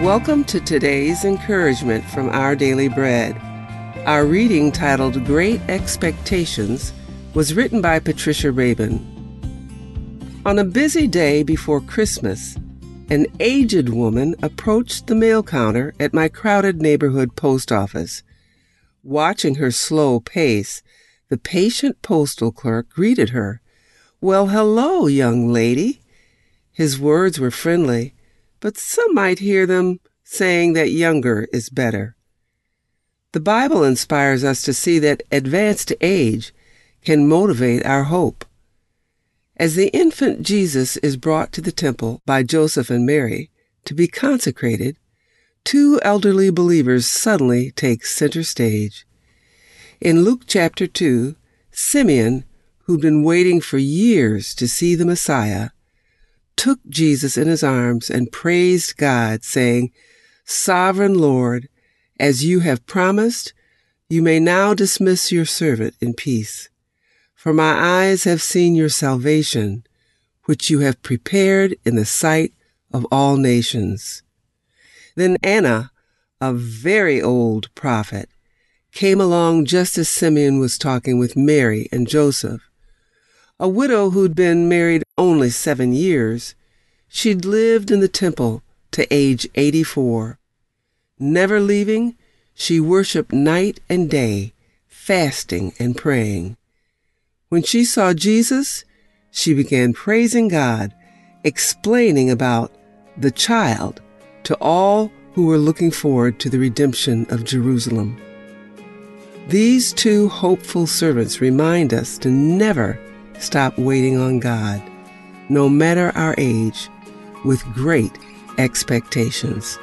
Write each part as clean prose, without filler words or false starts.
Welcome to today's encouragement from Our Daily Bread. Our reading, titled Great Expectations, was written by Patricia Rabin. On a busy day before Christmas, an aged woman approached the mail counter at my crowded neighborhood post office. Watching her slow pace, the patient postal clerk greeted her. "Well, hello, young lady." His words were friendly, but some might hear them saying that younger is better. The Bible inspires us to see that advanced age can motivate our hope. As the infant Jesus is brought to the temple by Joseph and Mary to be consecrated, two elderly believers suddenly take center stage. In Luke chapter 2, Simeon, who'd been waiting for years to see the Messiah, took Jesus in his arms and praised God, saying, "Sovereign Lord, as you have promised, you may now dismiss your servant in peace. For my eyes have seen your salvation, which you have prepared in the sight of all nations." Then Anna, a very old prophet, came along just as Simeon was talking with Mary and Joseph. A widow who'd been married only 7 years, she'd lived in the temple to age 84. Never leaving, she worshiped night and day, fasting and praying. When she saw Jesus, she began praising God, explaining about the child to all who were looking forward to the redemption of Jerusalem. These two hopeful servants remind us to never stop waiting on God, no matter our age, with great expectations.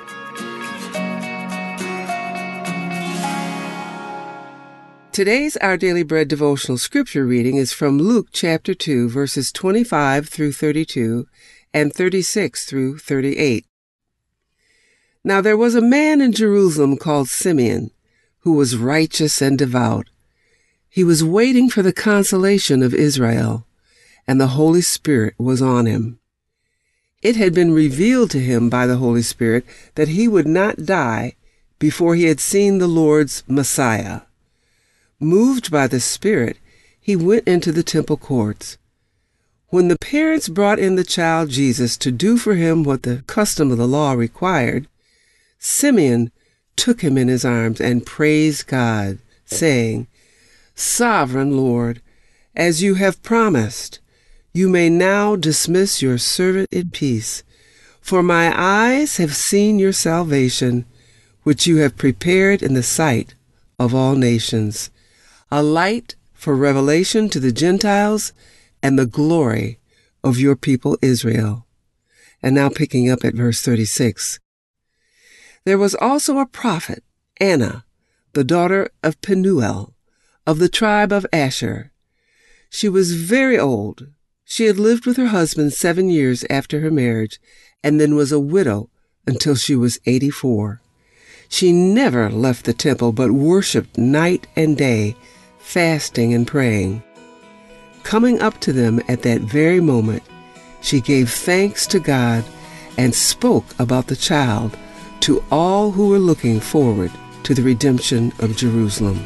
Today's Our Daily Bread devotional scripture reading is from Luke chapter 2, verses 25 through 32 and 36 through 38. Now there was a man in Jerusalem called Simeon, who was righteous and devout. He was waiting for the consolation of Israel, and the Holy Spirit was on him. It had been revealed to him by the Holy Spirit that he would not die before he had seen the Lord's Messiah. Moved by the Spirit, he went into the temple courts. When the parents brought in the child Jesus to do for him what the custom of the law required, Simeon took him in his arms and praised God, saying, "Sovereign Lord, as you have promised, you may now dismiss your servant in peace, for my eyes have seen your salvation, which you have prepared in the sight of all nations, a light for revelation to the Gentiles and the glory of your people Israel." And now picking up at verse 36. There was also a prophet, Anna, the daughter of Penuel, of the tribe of Asher. She was very old. She had lived with her husband 7 years after her marriage, and then was a widow until she was 84. She never left the temple, but worshipped night and day, fasting and praying. Coming up to them at that very moment, she gave thanks to God and spoke about the child to all who were looking forward to the redemption of Jerusalem.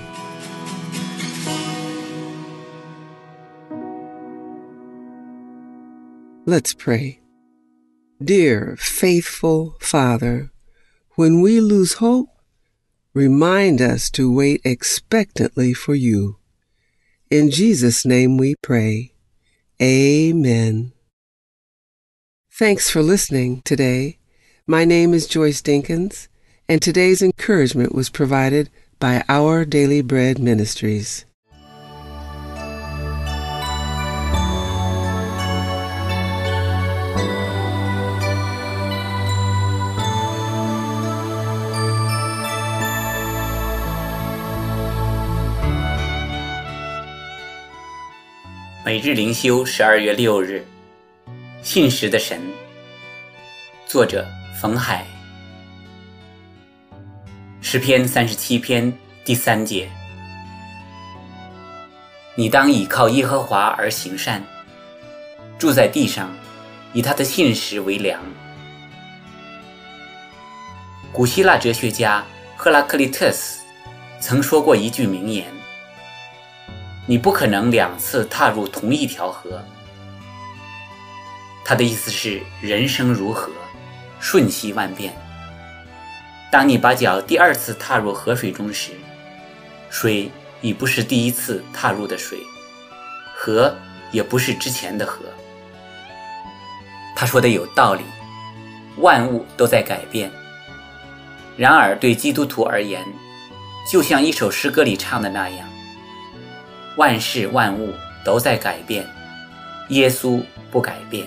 Let's pray. Dear, faithful Father, when we lose hope, remind us to wait expectantly for you. In Jesus' name we pray. Amen. Thanks for listening today. My name is Joyce Dinkins, and today's encouragement was provided by Our Daily Bread Ministries. 每日灵修12月6日，信实的神。作者冯海。诗篇37篇第3节。你当倚靠耶和华而行善，住在地上，以他的信实为粮。 古希腊哲学家赫拉克利特斯曾说过一句名言：你不可能2次踏入同一条河。他的意思是，人生如河，瞬息万变。当你把脚第2次踏入河水中时，水已不是第1次踏入的水，河也不是之前的河。他说的有道理，万物都在改变。然而对基督徒而言，就像一首诗歌里唱的那样，万事万物都在改变，耶稣不改变。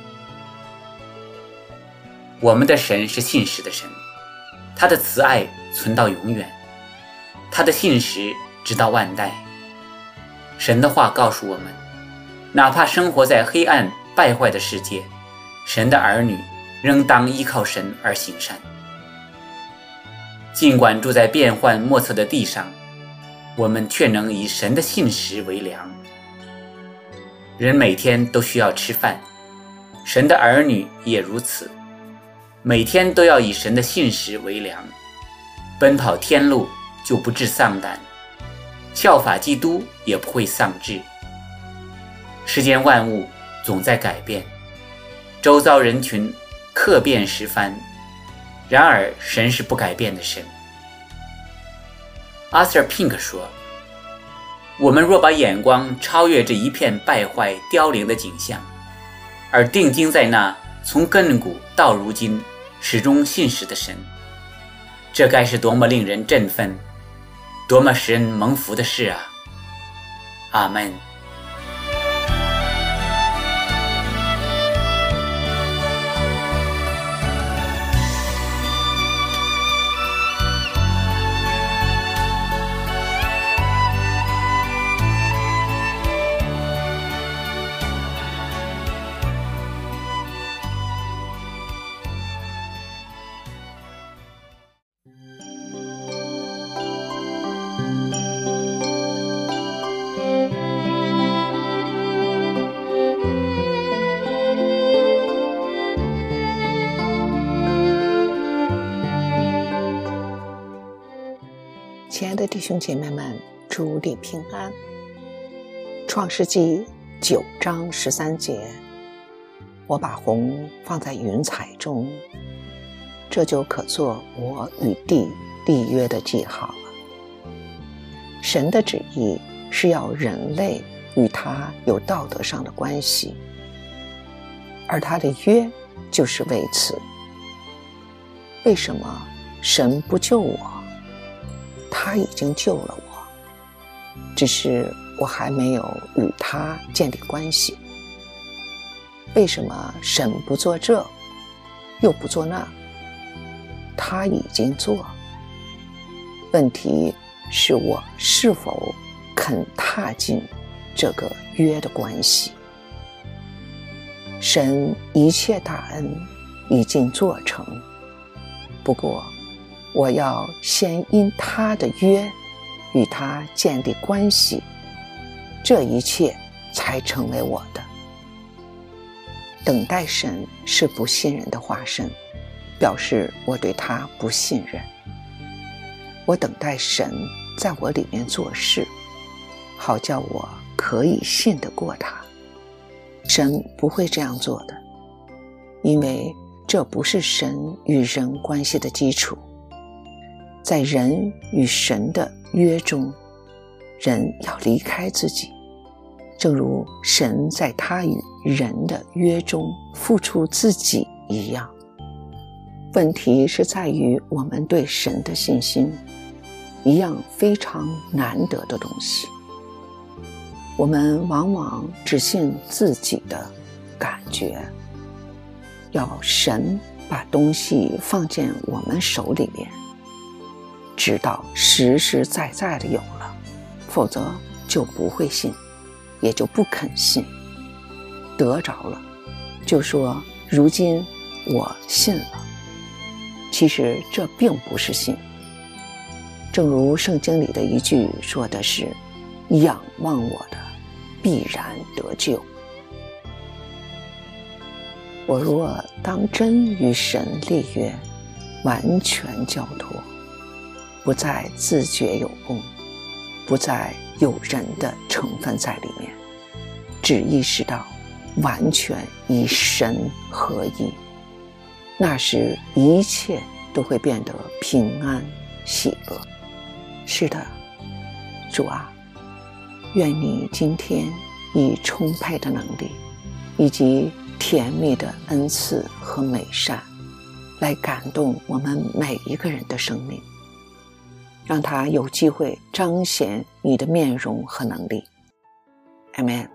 我们的神是信实的神，他的慈爱存到永远，他的信实直到万代。神的话告诉我们，哪怕生活在黑暗败坏的世界，神的儿女仍当依靠神而行善。尽管住在变幻莫测的地上，我们却能以神的信实为粮。人每天都需要吃饭，神的儿女也如此，每天都要以神的信实为粮，奔跑天路就不致丧胆，效法基督也不会丧志。世间万物总在改变，周遭人群客变时番，然而神是不改变的神。Arthur Pink 说，我们若把眼光超越这一片败坏凋零的景象，而定睛在那从亘古到如今始终信实的神，这该是多么令人振奋，多么使人蒙福的事啊！阿们。 亲爱的弟兄姐妹们，主你平安。创世纪9章13节，我把虹放在云彩中，这就可做我与地立约的记号了。神的旨意是要人类与他有道德上的关系，而他的约就是为此。为什么神不救我？他已经救了我，只是我还没有与他建立关系。为什么神不做这，又不做那？他已经做。问题是我是否肯踏进这个约的关系？神一切大恩已经做成，不过我要先因他的约与他建立关系，这一切才成为我的。等待神是不信任的化身，表示我对他不信任。我等待神在我里面做事，好叫我可以信得过他。神不会这样做的，因为这不是神与人关系的基础。在人与神的约中，人要离开自己，正如神在他与人的约中付出自己一样。问题是在于我们对神的信心，一样非常难得的东西。我们往往只信自己的感觉，要神把东西放进我们手里面，直到实实在在的有了，否则就不会信，也就不肯信。得着了就说如今我信了，其实这并不是信。正如圣经里的一句说的是，仰望我的必然得救。我若当真与神立约， 完全交托，不再自觉有功，不再有人的成分在里面，只意识到完全与神合一，那时一切都会变得平安喜乐。是的，主啊，愿你今天以充沛的能力以及甜蜜的恩赐和美善来感动我们每一个人的生命，让他有机会彰显你的面容和能力。 Amen。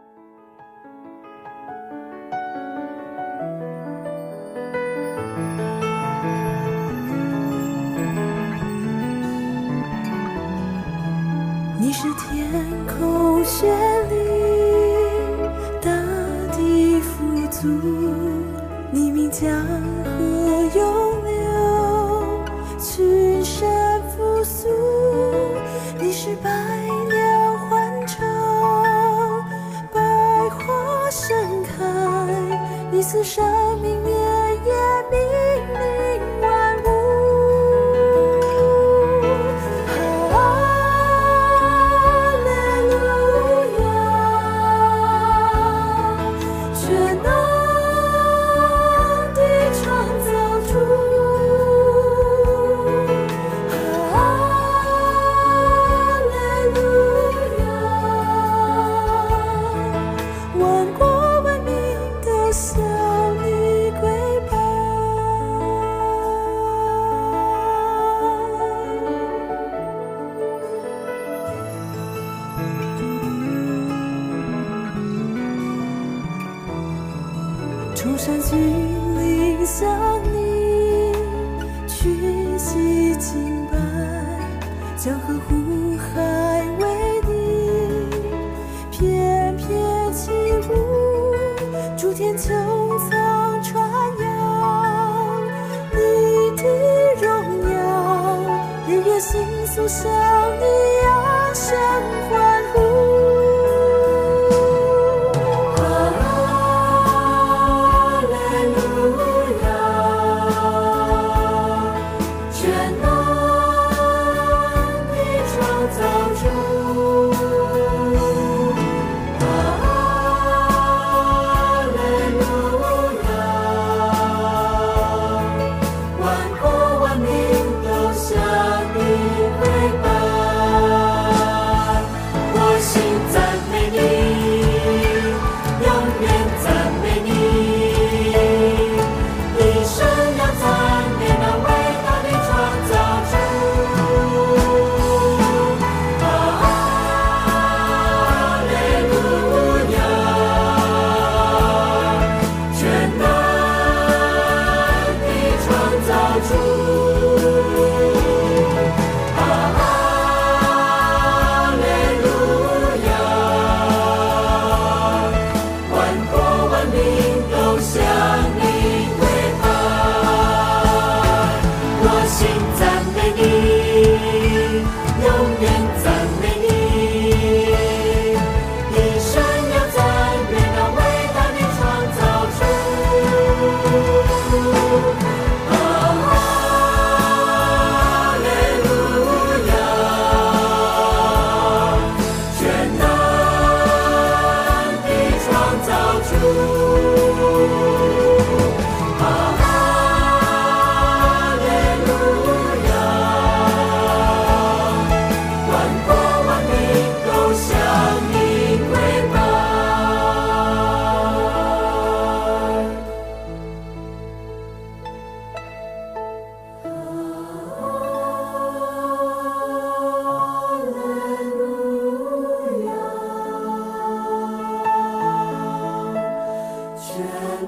你是天空绚丽，大地富足，你名江河涌流，群山复苏。你是百鸟欢唱，百花盛开，你赐生命绵延，命令万物。崇山峻岭向你屈膝敬拜，江河湖海为你翩翩起舞，诸天穹苍传扬你的荣耀，日月星宿向你扬声欢呼。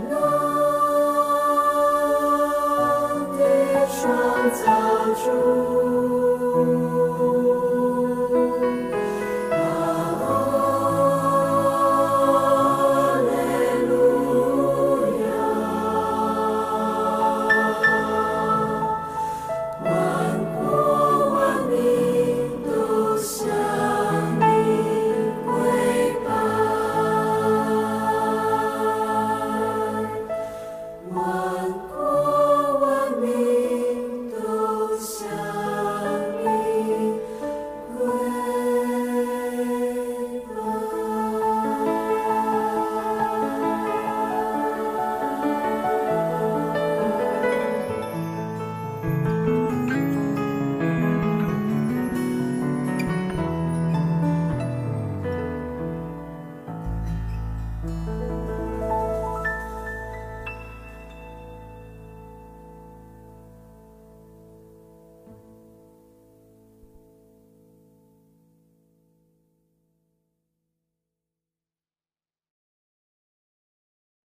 创造主。